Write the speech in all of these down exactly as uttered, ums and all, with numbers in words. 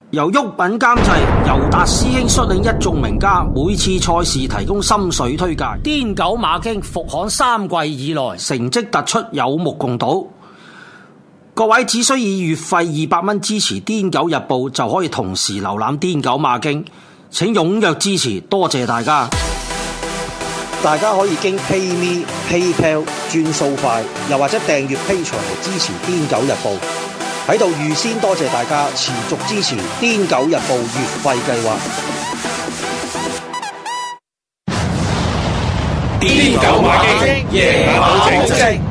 由郁品監製，尤達師兄率領一眾名家，每次賽事提供心水推介。癲狗馬經復刊三季以來，成績突出，有目共睹。各位只需以月費二百蚊支持《癲狗日報》，就可以同時瀏覽《癲狗馬經》。請踴躍支持，多謝大家！大家可以經 PayMe、PayPal 轉數快，又或者訂閱 Patreon嚟支持《癲狗日報》。喺度預先多謝大家持續支持《癲狗日報》月費計劃。 癲狗馬經，夜馬好正。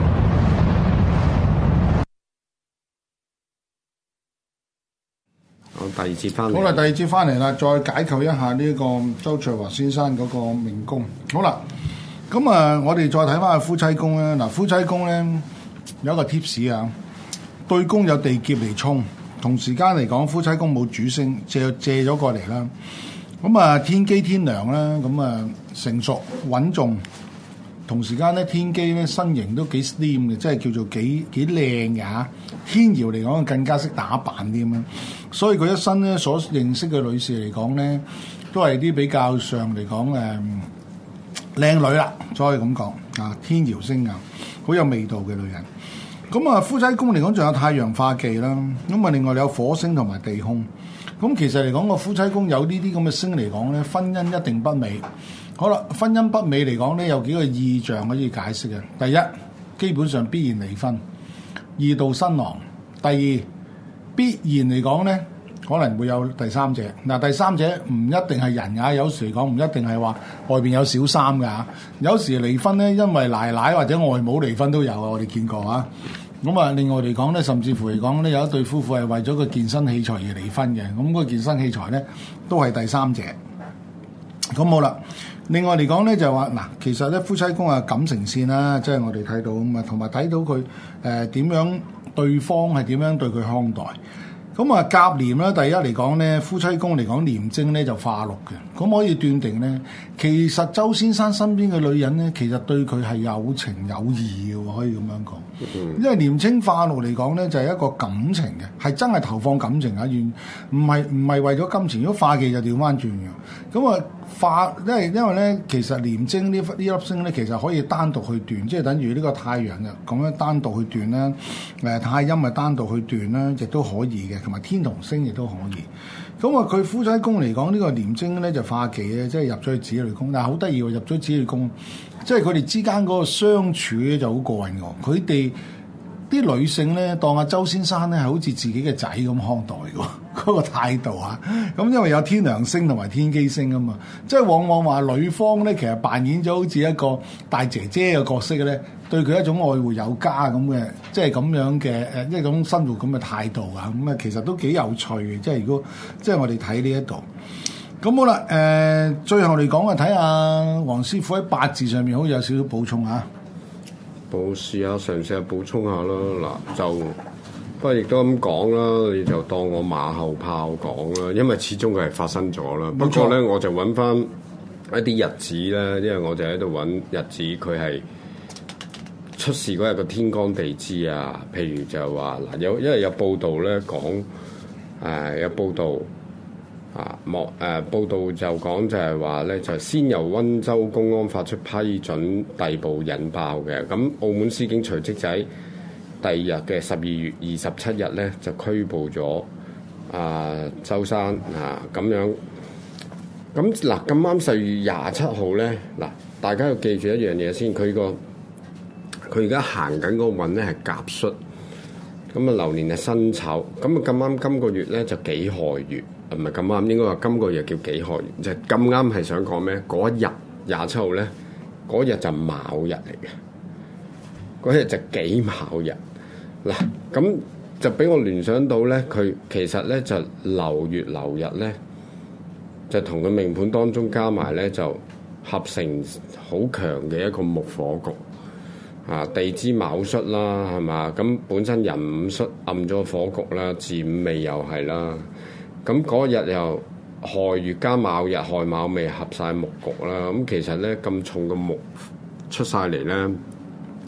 好，第二節翻嚟。 好啦，第二節翻嚟啦，再解構一下呢個周卓華先生嗰個命宮。好啦，咁啊，我哋再睇翻夫妻宮咧。嗱，夫妻宮咧有一個 tips 啊。對宮有地劫嚟沖，同時間嚟講，夫妻宮冇主星，借借咗過嚟啦。咁啊，天機天梁啦，咁啊成熟穩重。同時間咧，天機咧身形都幾 slim 嘅，即係叫做幾幾靚嘅嚇。天姚嚟講更加識打扮啲咁樣，所以佢一生咧所認識嘅女士嚟講咧，都係啲比較上嚟講誒靚女啦，可以咁講啊。天姚星啊，好有味道嘅女人。咁啊，夫妻宮嚟講，仲有太陽化忌啦。咁啊，另外有火星同埋地空。咁其實嚟講，個夫妻宮有呢啲咁嘅星嚟講咧，婚姻一定不美。好啦，婚姻不美嚟講咧，有幾個意象可以解釋嘅。第一，基本上必然離婚，二度新郎。第二，必然嚟講咧，可能會有第三者。嗱，第三者唔一定係人㗎，有時嚟講唔一定係話外邊有小三㗎。有時離婚咧，因為奶奶或者外母離婚都有啊，我哋見過啊。咁啊，另外嚟講咧，甚至乎嚟講咧，有一對夫婦係為咗個健身器材而離婚嘅。咁個健身器材咧，都係第三者。咁好啦。另外嚟講咧，就話嗱，其實咧夫妻宮啊感情線啦，即係我哋睇到咁啊，同埋睇到佢誒點樣對方係點樣對佢看待。咁啊，甲廉咧，第一嚟講咧，夫妻宮嚟講廉貞咧就化祿嘅，咁可以斷定咧，其實周先生身邊嘅女人咧，其實對佢係有情有義嘅喎，可以咁樣講。嗯、因為廉貞化祿嚟講咧，就係、是、一個感情嘅，係真係投放感情啊，完唔係唔係為咗金錢。如果化忌就調翻轉嘅，咁啊化，因為因為咧，其實廉貞呢呢粒星咧，其實可以單獨去斷，即係等於呢個太陽嘅咁樣單獨去斷啦，誒、呃、太陰咪單獨去斷啦，亦都可以嘅。同埋天同星亦都可以，咁啊佢夫妻宮嚟講呢個廉貞咧就化忌咧，即係入咗去子女宮，但係好得意喎，入咗子女宮，即係佢哋之間嗰個相處咧就好過癮喎，佢哋啲女性咧當阿周先生咧係好似自己嘅仔咁看待嘅喎，嗰、嗰個態度啊，咁因為有天梁星同埋天機星啊嘛，即係往往話女方咧其實扮演咗好似一個大姐姐嘅角色嘅咧。對佢一種愛護有加咁嘅，即係咁樣嘅誒一種生活咁嘅態度啊，咁啊其實都幾有趣嘅。即係如果即係我哋睇呢一度，咁好啦。誒、呃，最後嚟講啊，睇下黃師傅喺八字上面好似有少少補充嚇。 補試下，嘗試下補充下啦。嗱，就不過亦都咁講啦，你就當我馬後炮講啦，因為始終佢係發生咗啦。不過咧，我就揾翻一啲日子咧，因為我就喺度揾日子，佢係出事嗰日個天干地支啊，譬如就話嗱，有因為有報道咧講，誒、呃、有報道啊，莫誒、呃、報道就講就係話咧，就先由溫州公安發出批准，逮捕引爆嘅。咁澳門司警隨即就喺第二日嘅十二月二十七日咧，就拘捕咗啊周生啊咁樣。咁嗱咁啱十二月廿七號咧，嗱大家要記住一樣嘢先，佢個。佢而家行緊嗰個運咧係甲戌，咁啊流年係辛丑，咁啊咁啱今個月咧就己亥月，唔係咁啱，應該話今個月叫己亥月，就咁啱係想講咩？嗰一日廿七號咧，嗰日就卯日嚟嘅，嗰日就己卯日。嗱，咁就俾我聯想到咧，佢其實咧就流月流日咧，就同佢命盤當中加埋咧就合成好強嘅一個木火局。啊，地支卯戌啦，係嘛？咁本身壬午戌暗咗火局啦，巳午未又係啦。咁嗰日又亥月加卯日，亥卯未合晒木局啦。咁其實咧咁重嘅木出晒嚟咧，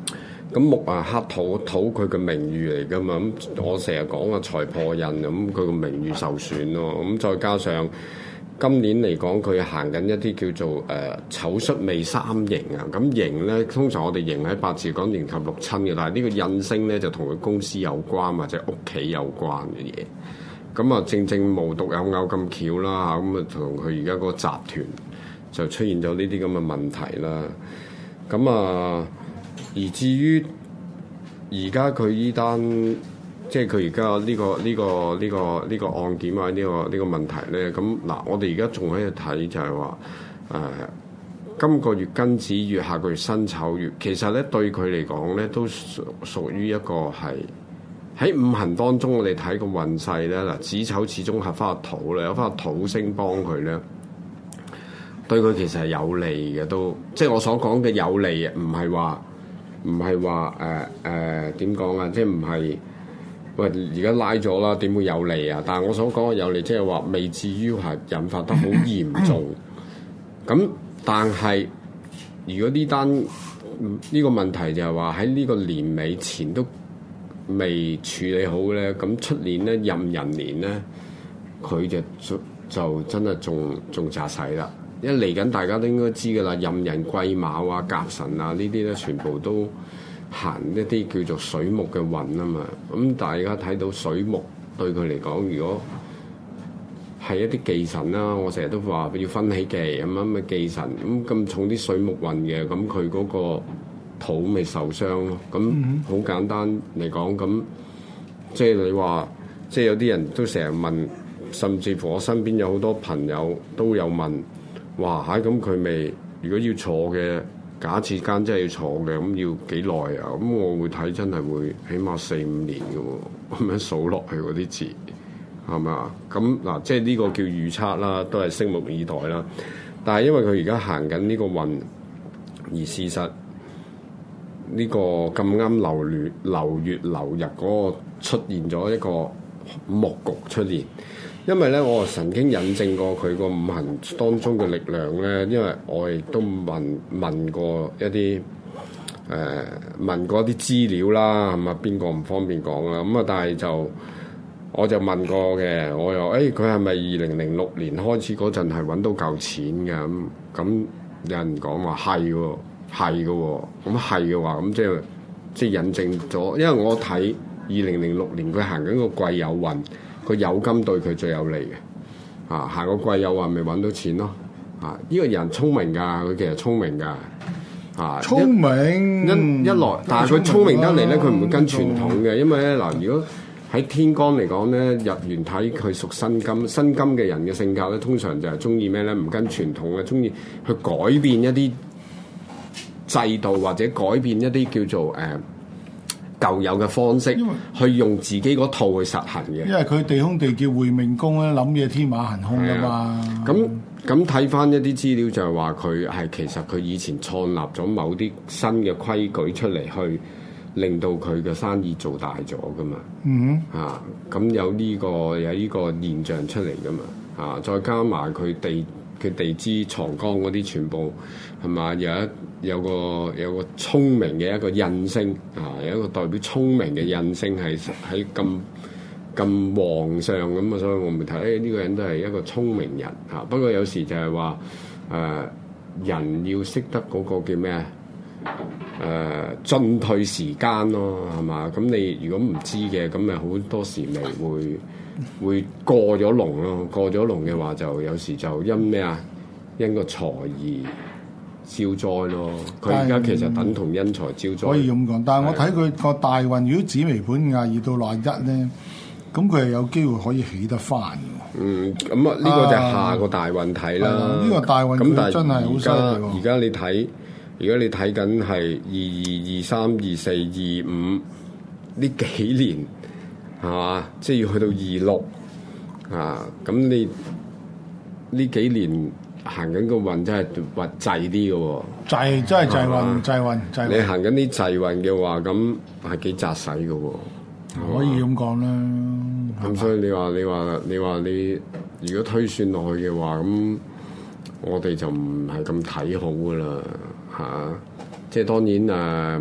咁木啊克土，土佢嘅名譽嚟噶嘛，咁我成日講啊財破印，咁佢個名譽受損咯，咁再加上今年嚟講佢行緊一啲叫做誒、呃、丑戌未三刑啊，咁刑咧通常我哋刑喺八字講刑及六親嘅，但係呢個印星咧就同佢公司有關或者屋企有關嘅嘢，咁啊正正無獨有偶咁巧啦，咁啊同佢而家個集團就出現咗呢啲咁嘅問題啦，咁啊。而至於而家佢依單，即係佢而家呢個呢、這個呢、這個呢、這個案件啊，呢、這個呢、這個問題咧，咁嗱，我哋而家仲喺度睇就係話，誒、呃，今個月庚子月，下個月辛丑月，其實咧對佢嚟講咧，都屬屬於一個係喺五行當中，我哋睇個運勢咧，嗱，子丑始終合翻個土咧，有翻個土星幫佢咧。對佢其實係有利嘅，都即係我所講嘅有利，唔係話。唔係話誒誒點講啊？即係唔係喂而家拉咗啦？點會有利啊？但係我所講嘅有利，即係話未至於係引發得好嚴重。咁但係如果呢單呢個問題就係話喺呢個年尾前都未處理好咧，咁出年咧壬寅年咧，佢就就真係仲仲詐死啦。因為嚟緊大家都應該知㗎啦，壬寅癸卯啊、甲辰啊呢啲咧，全部都行一啲叫做水木嘅運啊嘛。咁大家睇到水木對佢嚟講，如果係一啲忌神啦，我成日都話要分起忌咁樣嘅忌神，咁咁重啲水木運嘅，咁佢嗰個土咪受傷咯。咁好簡單嚟講，咁即係你話，即係有啲人都成日問，甚至乎我身邊有好多朋友都有問。哇！嚇咁佢咪如果要坐嘅，假設間真係要坐嘅，咁要幾耐啊？咁我會睇真係會起碼四五年嘅喎，咁樣數落去嗰啲字係咪啊？咁嗱，即係呢個叫預測啦，都係拭目以待啦。但係因為佢而家行緊呢個運，而事實呢個咁啱流月流月流日嗰個出現咗一個木局出現。因為咧，我曾經引證過佢個五行當中嘅力量咧，因為我亦都問問過一啲誒、呃、問過一啲資料啦，咁啊邊個唔方便講啦，咁啊但係就我就問過嘅，我又誒佢係咪二零零六年開始嗰陣係揾到夠錢嘅咁？咁有人講話係喎，係嘅喎，咁係嘅話咁即係即係引證咗，因為我睇二零零六年佢行緊個癸酉運。個酉金對佢最有利嘅，啊行個癸酉運咪揾到錢咯，啊呢、這個人聰明㗎，佢其實聰明㗎，啊聰明一一來，但係佢聰明得嚟咧，佢唔會跟傳統嘅，因為咧嗱，如果喺天干嚟講咧，日元睇佢屬辛金，辛金嘅人嘅性格咧，通常就係中意咩咧？唔跟傳統嘅，中意去改變一啲制度或者改變一啲叫做誒。呃舊有嘅方式，去用自己嗰套去實行嘅。 因為佢地空地叫會命宮咧，諗嘢天馬行空噶嘛。 咁咁睇翻一啲資料就係話佢係其實佢以前創立咗某啲新嘅規矩出嚟，去令到佢嘅生意做大咗噶嘛。 嗯哼，啊咁有呢個有呢個現象出嚟噶嘛。啊，再加埋佢地佢地支藏干嗰啲全部係嘛，有一。有個有個聰明嘅一個印星啊，有一個代表聰明嘅印星係喺咁咁旺上咁啊，所以我咪睇呢個人都係一個聰明人嚇、啊。不過有時就係話誒人要識得嗰個叫咩啊誒進退時間咯，係嘛？咁你如果唔知嘅，咁咪好多時咪會會過咗龍咯。過咗龍嘅話，就有時就因咩啊？因個財而招災咯，佢而家其實等同因財招災。 可以咁講，但係我睇佢個大運，如果紫微盤廿二到廿一咧，咁佢係有機會可以起得翻嘅。 嗯，咁啊，呢個就下個大運睇啦。呢、 呢個大運佢真係好犀利喎。 而家你睇，而家你睇緊係二二、二三、二四、二五呢幾年係嘛？即係要去到二六啊！咁你呢幾年？行緊個運真係運滯啲嘅喎， 滯真係滯運，滯運，滯運。 你行緊啲滯運嘅話，咁係幾扎使嘅喎， 可以咁講啦。 咁所以你話你話你話你，如果推算落去嘅話，咁我哋就唔係咁睇好嘅啦，嚇、啊。即係當然誒、啊，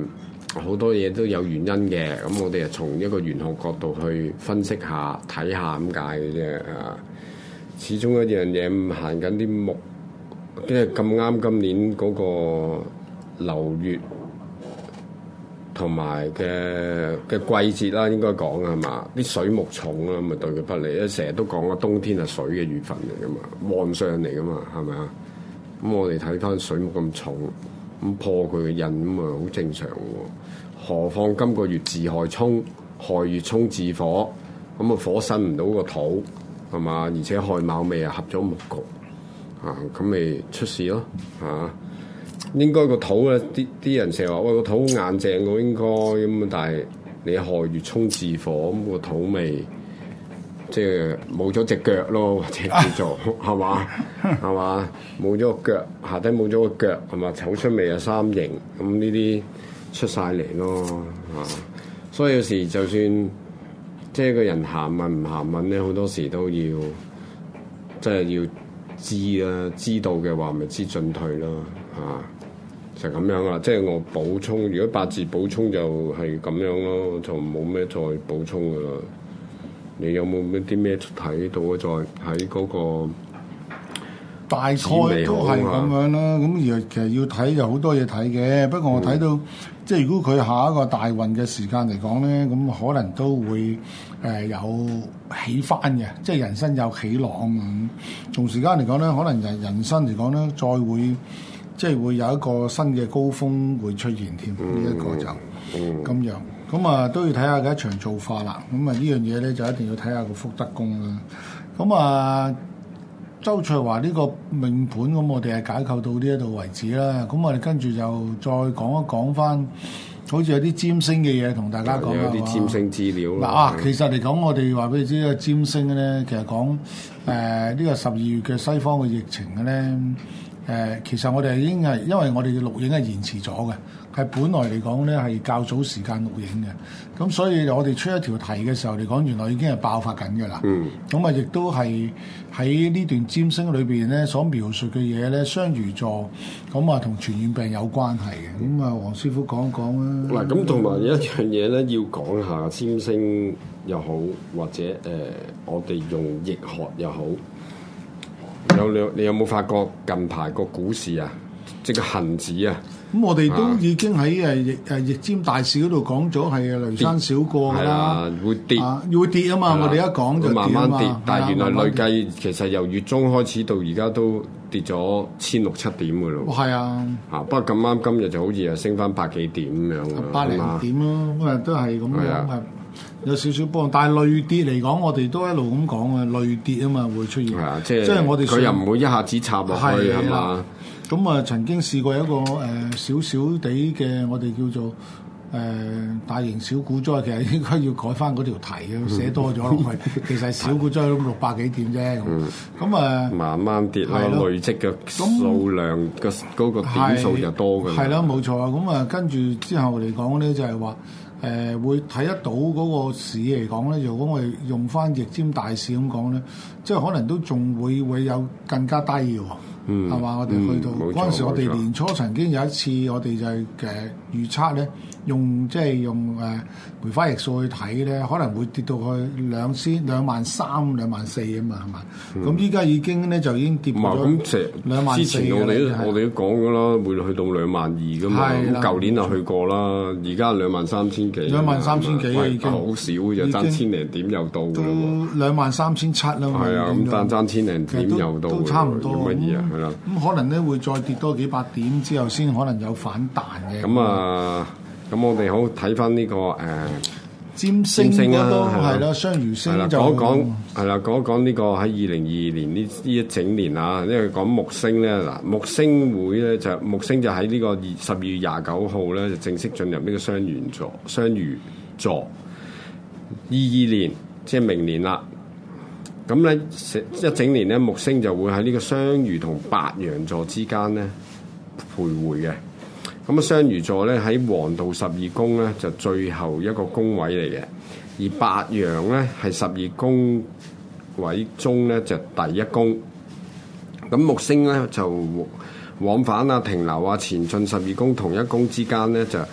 好多嘢都有原因嘅。咁我哋係從一個玄學角度去分析下、睇下咁解嘅啫啊。始終一樣嘢行緊啲木，即係咁啱今年嗰個流月同埋嘅嘅季節啦，應該講係嘛？啲水木重啦，咪對佢不利。因為成日都講啊，冬天係水嘅月份嚟噶嘛，旺相嚟噶嘛，係咪啊？咁我哋睇翻水木咁重，咁破佢嘅印咁啊，好正常喎。何況今個月自害沖，害月沖自火，咁啊火生唔到個土係嘛？而且亥卯未啊合咗木局啊，咁咪出事咯嚇。啊應該個土咧，啲啲人成日話喂個土硬淨喎，應該咁啊！但係你亥月沖自火，咁個土咪即係冇咗隻腳咯，或者叫做係嘛係嘛，冇咗個腳，下底冇咗個腳係嘛，丑出未啊三刑，咁呢啲出晒嚟咯啊！所以有時就算即係個人行運唔行運咧，好多時都要即係要知啦，知道嘅話咪知進退咯啊！就咁樣啦，即係我補充。如果八字補充就係咁樣咯，就冇咩再補充噶啦。你有冇咩啲咩睇到啊？再喺嗰個大概都係咁樣啦。咁而其實要睇有好多嘢睇嘅。不過我睇到、嗯、即係如果佢下一個大運嘅時間嚟講咧，咁可能都會誒、呃、有起翻嘅，即係人生有起浪咁。從時間嚟講咧，可能人人生嚟講咧，再會。即係會有一個新嘅高峰會出現添，呢一、嗯、個就咁、嗯、樣，咁啊都要睇下嘅一場造化啦。咁啊呢樣嘢咧就一定要睇下個福德宮啦。咁啊周卓華呢個命盤，咁我哋係解構到呢一度為止啦。咁我哋跟住就再講一講翻，好似有啲占星嘅嘢同大家講有啲占星資料嗱啊，其實嚟講，我哋話俾你知，呢個占星咧，其實講誒呢個十二月嘅西方嘅疫情嘅咧。誒、呃，其實我哋已經係因為我哋嘅錄影係延遲咗嘅，係本來嚟講咧係較早時間錄影嘅，咁所以我哋出一條題嘅時候嚟講，原來已經係爆發緊嘅啦。嗯，咁啊，亦都係喺呢段占星裏邊咧所描述嘅嘢咧，雙魚座咁啊，同傳染病有關係嘅。咁啊，黃師傅講一講啦。嗱， 咁同埋有一樣嘢咧，要講下占星又好，或者誒、呃，我哋用易學又好。有你你有冇發覺近排個股市啊，即係個恆指啊？ 咁我哋都已經喺誒易誒易占大市嗰度講咗係雷山小過㗎啦， 會跌， 啊、會跌啊嘛！啊我哋一講就慢慢跌， 啊、 但係原來累計其實由月中開始到而家都跌咗千六七點㗎咯。係啊，啊不過咁啱今日就好似又升翻百幾點咁樣㗎， 百零點咯，咁啊都係咁樣。有少少波動，但係累跌嚟講，我哋都一路咁講啊，累跌啊嘛會出現。係啊，即係即係我哋佢又唔會一下子插落去係嘛？ 咁啊，曾經試過一個誒少少地嘅，我哋叫做誒、呃、大型小股災，其實應該要改翻嗰條題嘅，寫多咗落去。其實小股災咁六百幾點啫。咁啊，慢慢跌啦，累積嘅數量嘅嗰個點數就多嘅。係啦，冇錯啊。咁啊，跟住之後嚟講咧，就係話。誒、呃、會睇得到嗰個市嚟講咧，如果我哋用翻易占大市咁講咧，即係可能都仲會會有更加低嘅喎，係嘛、嗯？我哋去到嗰陣、嗯、時，我哋年初曾經有一次，我哋就係誒預測咧，用即係用誒、呃、梅花易數去睇咧，可能會跌到去兩千兩萬三、兩萬四啊嘛，係嘛？咁依家已經咧就已經跌咗兩萬四。之前我哋都我哋都講咗啦，會去到兩萬二噶嘛。咁舊年就去過啦，而家兩萬三千幾。兩萬三千幾已經好少嘅，爭千零點又到㗎啦。兩萬三千七啦嘛。係啊，咁爭爭千零點又到。都差唔多。乜嘢啊？係啦。咁可能咧會再跌多幾百點之後，先可能有反彈嘅。咁啊，咁我哋好睇翻呢個誒占星啊，係啦，雙魚星就講講係啦，講一講呢個喺二零二二年呢呢一整年啊，因為講木星咧嗱，木星會咧就木星就喺呢個二十二月廿九號咧就正式進入呢個雙魚座，雙魚座二二年即係明年啦。咁咧一整年咧木星就會喺呢個雙魚同白羊座之間咧徘徊嘅。咁啊，雙魚座咧喺黃道十二宮咧就最後一個宮位嚟嘅，而白羊咧係十二宮位中咧就第一宮。咁木星咧就往返啊、停留啊、前進十二宮同一宮之間咧就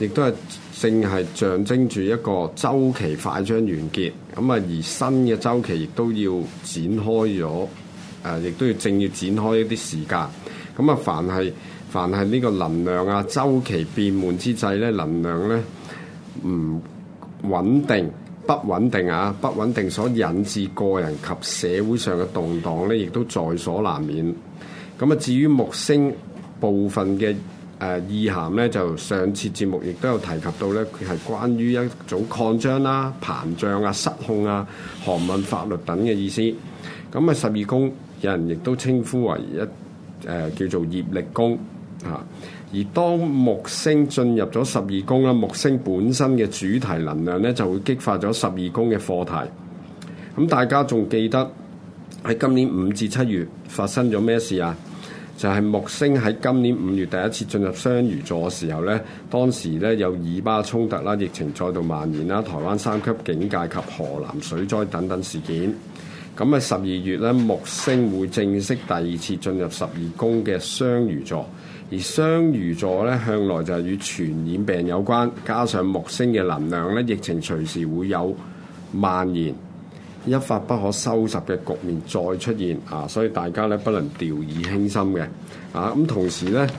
亦都係正係象徵住一個週期快將完結，咁啊而新嘅週期亦都要展開咗，誒、呃、亦都要正要展開一啲時間。咁啊，凡係凡係呢個能量啊週期變換之際咧，能量咧唔穩定、不穩定啊，不穩定所引致個人及社會上嘅動盪咧，亦都在所難免。咁啊，至於木星部分嘅誒、呃、意涵咧，就上次節目亦都有提及到咧，佢係關於一種擴張啦、膨脹啊、失控啊、航運、法律等嘅意思。咁啊，十二宮有人亦都稱呼為一誒、呃、叫做業力宮啊。而當木星進入咗十二宮啦，木星本身嘅主題能量咧，就會激發咗十二宮嘅課題。咁大家仲記得喺今年五至七月發生咗咩事啊？就係木星喺今年五月第一次進入雙魚座嘅時候咧，當時咧有以巴衝突啦、疫情再度蔓延啦、台灣三級警戒及河南水災等等事件。咁喺十二月咧，木星會正式第二次進入十二宮嘅雙魚座，而雙魚座咧向來就係與傳染病有關，加上木星嘅能量咧，疫情隨時會有蔓延。一發不可收拾嘅局面再出現啊！所以大家咧不能掉以輕心嘅啊！咁同時咧，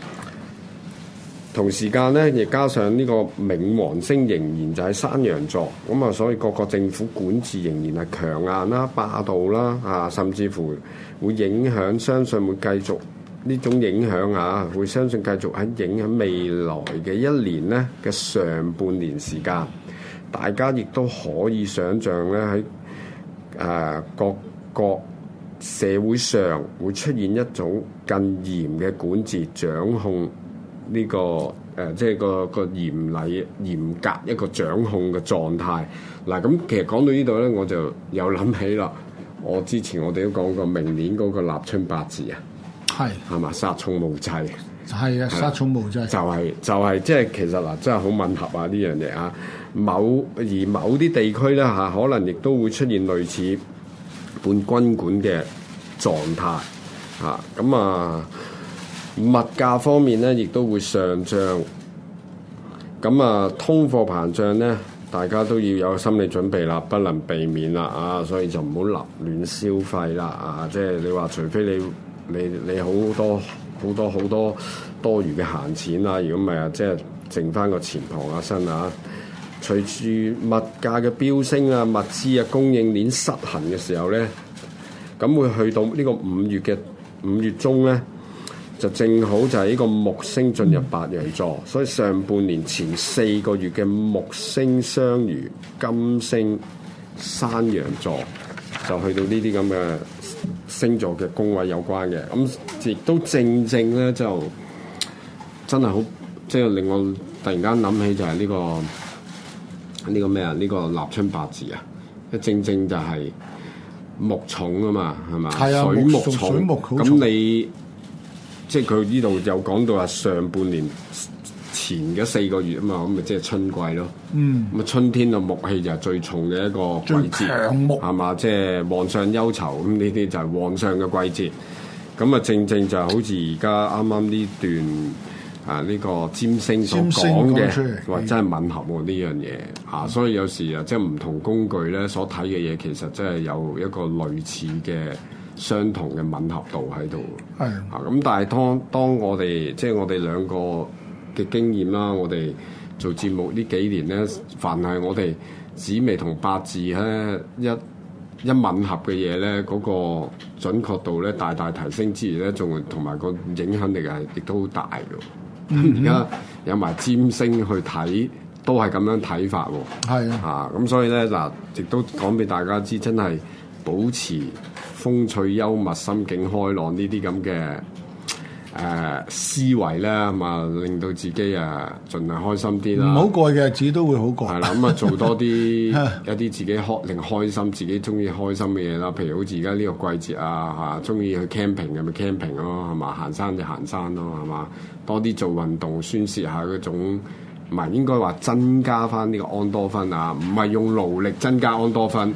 同時間咧亦加上呢個冥王星仍然就喺山羊座，咁啊，所以各個政府管治仍然係強硬啦、霸道啦啊，甚至乎會影響，相信會繼續呢種影響啊，會相信繼續喺影響未來嘅一年咧嘅上半年時間，大家亦都可以想像咧喺。誒、呃、各個社會上會出現一種更嚴嘅管治掌控呢、這個誒、呃，即係個個嚴厲嚴格一個掌控嘅狀態。嗱，咁其實講到呢度咧，我就有諗起啦。我之前我哋都講過明年嗰個立春八字啊，係係嘛，殺蟲無忌， 係啊，殺蟲無忌， 就係、是、就係即係其實嗱，真係好吻合啊呢樣嘢啊！某而某啲地區咧嚇，可能亦都會出現類似半軍管嘅狀態嚇。咁啊，物價方面咧，亦都會上漲。咁啊，通貨膨脹咧，大家都要有心理準備啦，不能避免啦啊！所以就唔好立亂消費啦啊！即係你話，除非你你你好多好多好多多餘嘅閒錢啊，如果唔係啊，即係剩翻個錢傍下身啊！隨住物價嘅飆升啊，物資啊供應鏈失衡嘅時候咧，咁會去到呢個五月嘅五月中咧，就正好就係呢個木星進入白羊座，所以上半年前四個月嘅木星雙魚、金星山羊座，就去到呢啲咁嘅星座嘅宮位有關嘅，咁亦都正正咧就真係好，即係令我突然間諗起就係呢個。呢個咩啊？呢、這個立春八字啊，正正就係木重啊嘛，係嘛？ 係啊， 水木重。 水木好重。 咁你即係佢呢度有講到話上半年前嘅四個月啊嘛，咁咪即係春季咯。嗯。咁啊，春天嘅木氣就係最重嘅一個季節， 最強木係嘛？即係皇上憂愁，咁呢啲就係皇上嘅季節。咁啊，正正就好似而家啱啱呢段。啊！呢、這個占星所講嘅，話真係吻合喎呢樣嘢嚇，所以有時啊，即係唔同工具咧所睇嘅嘢，其實真係有一個類似嘅相同嘅吻合度喺度。係啊，咁但係當當我哋即係我哋兩個嘅經驗啦，我哋做節目呢幾年咧，凡係我哋紫微同八字咧一一吻合嘅嘢咧，嗰、那個準確度咧大大提升之餘咧，仲同埋個影響力係亦都好大嘅。而家有埋占星去睇，都係咁樣睇法喎。係啊，啊咁所以咧嗱，亦都講俾大家知，真係保持風趣幽默、心境開朗呢啲咁嘅誒思維咧，咁啊令到自己啊盡量開心啲啦。唔好過嘅日子都會好過。係啦，咁啊做多啲一啲自己開令開心、自己中意開心嘅嘢啦。譬如好似而家呢個季節啊，嚇中意去 camping 嘅咪 camping 咯，係嘛？行山就行山咯，係嘛？多啲做運動，宣泄下嗰種，唔係應該話增加翻呢個安多酚啊，唔係用勞力增加安多酚，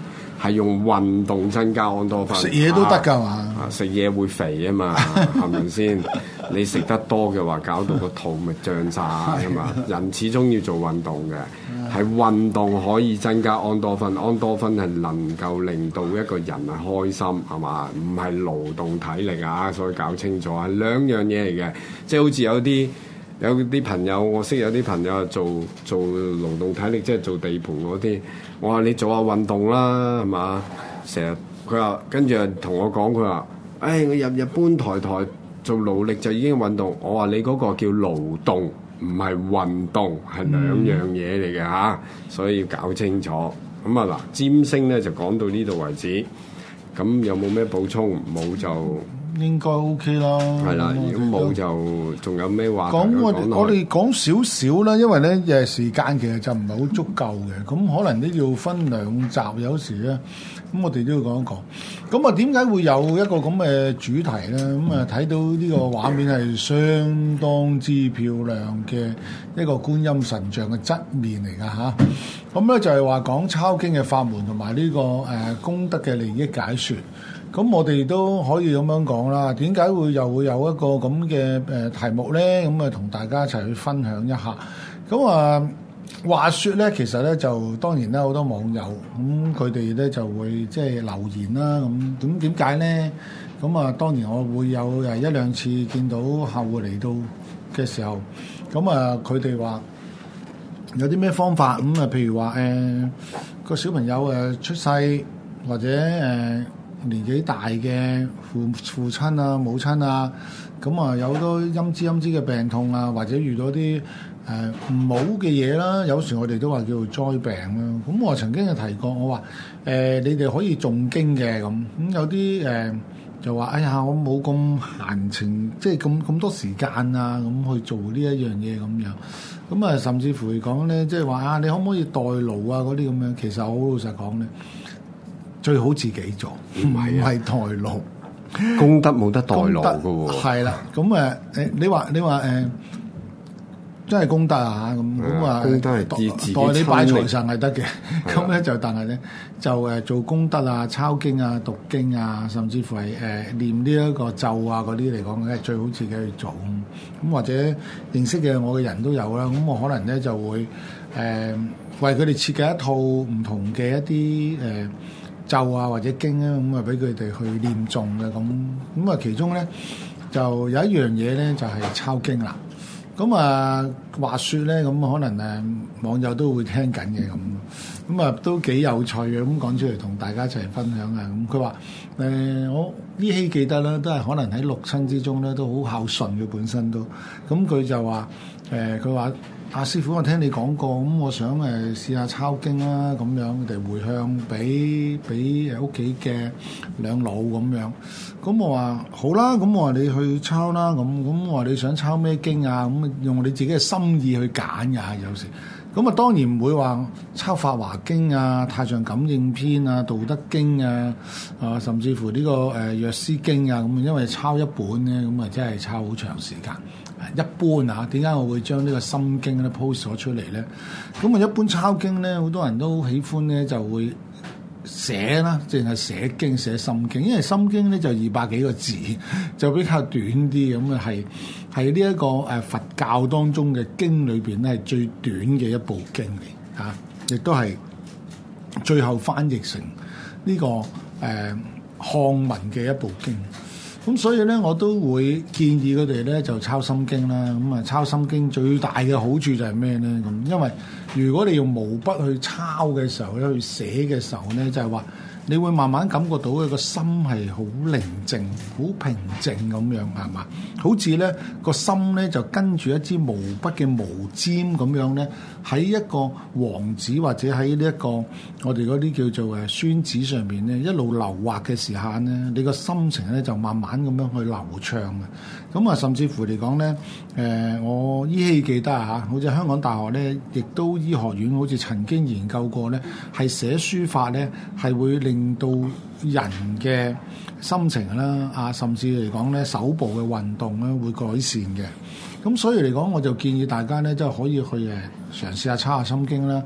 係用運動增加安多酚。 食嘢都得㗎嘛？ 啊，食嘢會肥啊嘛，係咪先？你食得多嘅話，搞到個肚咪脹晒啊嘛。人始終要做運動嘅，係運動可以增加安多酚，安多酚係能夠令到一個人係開心，係嘛？唔係勞動體力啊，所以搞清楚係兩樣嘢嚟嘅。即係好似有啲有啲朋友，我識有啲朋友做做勞動體力，即係做地盤嗰啲。我話你做下運動啦，係嘛？成日佢話跟住同我講，佢話：，誒、哎，我日日搬台台做勞力就已經運動。我話你嗰個叫勞動，唔係運動，係兩樣嘢嚟嘅嚇，所以要搞清楚。咁啊嗱，占星咧就講到呢度為止。咁有冇咩補充？冇就。 應該 OK 啦， 係啦，如果冇就仲有咩話講我哋我哋講少少啦，因為咧誒時間其實就唔係好足夠嘅，咁可能都要分兩集，有時咧咁我哋都要講一講。咁啊點解會有一個咁嘅主題咧？咁啊睇到呢個畫面係相當之漂亮嘅一個觀音神像嘅側面嚟㗎吓。咁咧就係話講抄經嘅法門同埋呢個誒、呃、功德嘅利益解說。咁我哋都可以咁樣講啦。點解會又會有一個咁嘅誒題目咧？咁啊，同大家一齊去分享一下。咁啊，話說咧，其實咧就當然啦，好多網友咁佢哋咧就會即係留言啦。咁點點解咧？咁啊，當然我會有誒一兩次見到客戶嚟到嘅時候，咁啊，佢哋話有啲咩方法咁啊？譬如話誒個小朋友誒出世或者誒。呃年紀大嘅父父親啊、母親啊，咁啊有好多陰滋陰滋嘅病痛啊，或者遇到啲誒唔好嘅嘢啦，有時我哋都話叫做災病啦。咁我曾經有提過，我話誒、呃、你哋可以誦經嘅咁，咁有啲誒、呃、就話哎呀我冇咁閒情，即係咁咁多時間啊，咁去做呢一樣嘢咁樣。咁啊甚至乎嚟講咧，即係話啊你可唔可以代勞啊嗰啲咁樣？其實我好老實講咧。最好自己做，唔係係代勞， 功德冇得代勞嘅喎。係啦，咁誒誒，你話你話誒、呃，真係功德啊咁咁啊，功德係自自代你拜財神係得嘅。咁咧就但係咧就誒做功德啊、抄經啊、讀經啊，甚至乎係誒、呃、念呢一個咒啊嗰啲嚟講咧，最好自己去做。咁或者認識嘅我嘅人都有啦。咁我可能咧就會誒、呃、為佢哋設計一套唔同嘅一啲誒。呃咒啊或者經啊咁啊俾佢哋去念誦嘅咁咁啊其中咧就有一樣嘢咧就係、是、抄經啦。咁啊話説咧咁可能誒網友都會聽緊嘅咁，咁啊都幾有趣嘅咁講出嚟同大家一齊分享啊。咁佢話誒我依稀記得啦，都係可能喺六親之中咧都好孝順嘅本身都。咁佢就話誒佢話。阿、啊、師傅，我聽你講過，咁我想誒試下抄經啦，咁樣佢哋回向俾俾誒屋企嘅兩老咁樣。咁我話好啦，咁我話你去抄啦，咁咁我話你想抄咩經啊？咁用你自己嘅心意去揀㗎，有時。咁啊當然唔會話抄《法華經》啊、《太上感應篇》啊、《道德經》啊，啊甚至乎呢、這個誒《藥師經》啊，咁因為抄一本咧，咁啊真係抄好長時間。一般啊，點解我會將呢個心經咧 post 咗出嚟咧？咁啊，一般抄經咧，好多人都喜歡咧，就會寫啦，淨係寫經寫心經，因為心經咧就二百幾個字，就比較短啲，咁啊係係呢一個誒佛教當中嘅經裏邊咧係最短嘅一部經嚟嚇，亦都係最後翻譯成呢、這個誒、呃、漢文嘅一部經。咁所以咧，我都會建議佢哋咧就抄心經啦。咁啊，抄心經最大嘅好處就係咩咧？咁因為如果你用毛筆去抄嘅時候咧，去寫嘅時候咧，就係話你會慢慢感覺到佢個心係好寧靜、好平靜咁樣，係嘛？好似咧個心咧就跟住一支毛筆嘅毛尖咁樣咧，喺一個黃紙或者喺呢一個我哋嗰啲叫做誒宣紙上邊咧，一路流畫嘅時間咧，你個心情咧就慢慢咁樣去流暢嘅。咁啊，甚至乎嚟講咧，誒、呃、我依稀記得啊嚇，好似香港大學咧，亦都醫學院好似曾經研究過咧，係寫書法咧係會令到人嘅心情啦，啊，甚至嚟講咧手部嘅運動咧會改善嘅。咁所以嚟講，我就建議大家咧，即係可以去誒嘗試下抄下心經啦。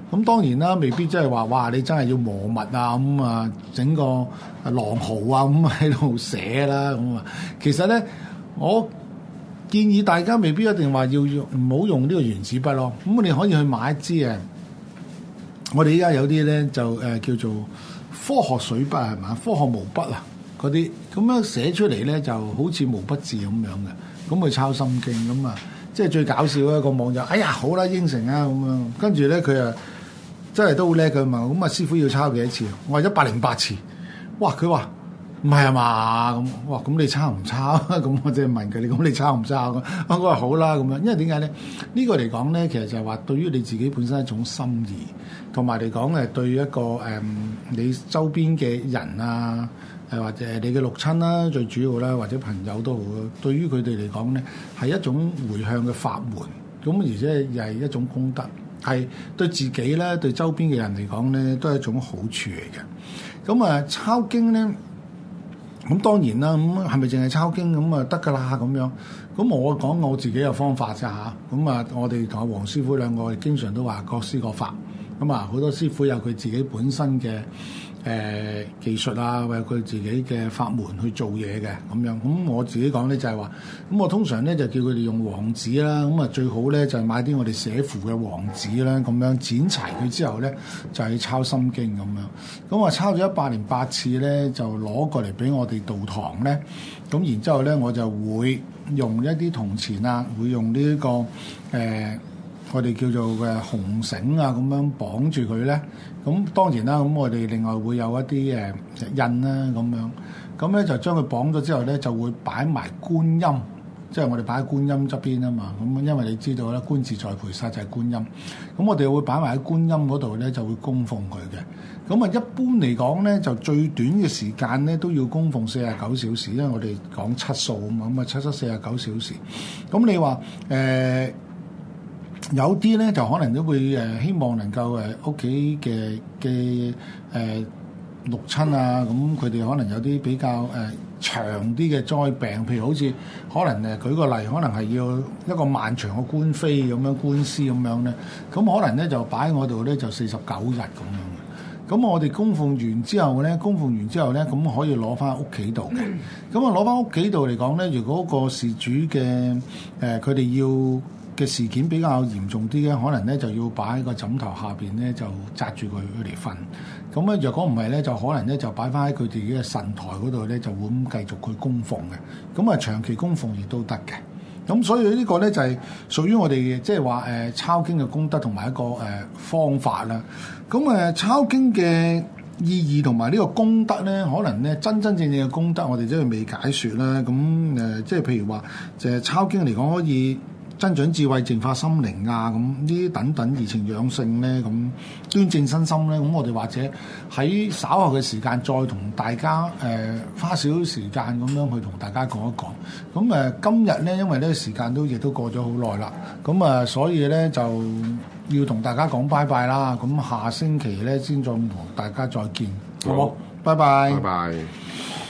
咁當然啦，未必即係話哇，你真係要磨墨啊咁啊，整個狼毫啊咁喺度寫啦咁啊。其實咧，我建議大家未必一定話要用唔好用呢個原子筆咯。咁你可以去買一支誒，我哋依家有啲咧就誒、呃、叫做科學水筆係嘛，科學毛筆啊嗰啲，咁樣寫出嚟咧就好似毛筆字咁樣嘅，咁去抄心經咁啊。即係最搞笑一個網友，哎呀好啦應承啊咁樣，跟住咧佢啊真係都好叻嘅嘛，咁啊師傅要抄幾多次？我話一百零八次，哇！佢話唔係啊嘛咁，哇！咁你抄唔抄？咁我即係問佢，你咁你抄唔抄？咁我話好啦咁樣，因為點解咧？呢個嚟講咧，其實就係話對於你自己本身一種心意，同埋嚟講誒對一個誒、嗯、你周邊嘅人啊。誒或者你嘅六親啦，最主要啦，或者朋友都好，對於佢哋嚟講咧，係一種迴向嘅法門，咁而且又係一種功德，係對自己咧，對周邊嘅人嚟講咧，都係一種好處嚟嘅。咁啊，抄經咧，咁當然啦，咁係咪淨係抄經咁啊得㗎啦？咁樣，咁我講我自己嘅方法啫嚇。咁啊，我哋同阿黃師傅兩個經常都話各施各法。咁啊，好多師傅有佢自己本身嘅。誒、呃、技術啊，或者佢自己嘅法門去做嘢嘅咁樣，咁我自己講咧就係話，咁我通常咧就叫佢哋用黃紙啦，咁啊最好咧就係買啲我哋寫符嘅黃紙啦，咁樣剪齊佢之後咧就係抄心經咁樣，咁我抄咗一百零八次咧就攞過嚟俾我哋道堂咧，咁然之後咧我就會用一啲銅錢啊，會用呢、這、一個誒。呃我哋叫做嘅紅繩啊，咁樣綁住佢咧。咁當然啦，咁我哋另外會有一啲誒印啦，咁樣。咁咧就將佢綁咗之後咧，就會擺埋觀音，即係我哋擺喺觀音側邊啊嘛。咁因為你知道咧，觀自在菩薩就係觀音。咁我哋會擺埋喺觀音嗰度咧，就會供奉佢嘅。咁啊，一般嚟講咧，就最短嘅時間咧都要供奉四十九小時，因為我哋講七數啊嘛。咁啊，七七四十九小時。咁你話誒？呃有啲咧就可能都會誒希望能夠誒屋企嘅嘅誒六親啊，咁佢哋可能有啲比較誒、呃、長啲嘅災病，譬如好似可能誒舉個例，可能係要一個漫長嘅官非咁樣官司咁樣咧，咁可能咧就擺喺我度咧就四十九日咁樣嘅。咁我哋供奉完之後咧，供奉完之後咧，咁可以攞翻屋企度嘅。咁啊攞翻屋企度嚟講咧，如果個事主嘅誒佢哋要嘅事件比較嚴重啲嘅，可能咧就要擺喺個枕頭下邊咧，就紮住佢佢嚟瞓。咁咧，若果唔係咧，就可能咧就擺翻喺佢自己嘅神台嗰度咧，就會咁繼續去供奉嘅。咁啊，長期供奉亦都得嘅。咁所以呢個咧就係屬於我哋即係話誒抄經嘅功德同埋一個誒、呃、方法啦。咁誒、呃、抄經嘅意義同埋呢個功德咧，可能咧真真正正嘅功德，我哋真係未解説啦。咁誒、呃，即係譬如話，就係抄經嚟講可以增長智慧、淨化心靈啊，咁呢啲等等怡情養性咧，咁端正身心咧，咁我哋或者喺稍後嘅時間再同大家誒、呃、花少少時間咁樣去同大家講一講。咁誒、呃、今日咧，因為呢個時間都亦都過咗好耐啦，咁啊、呃，所以咧就要同大家講拜拜啦。咁下星期咧先再同大家再見，好冇？拜拜。 拜拜。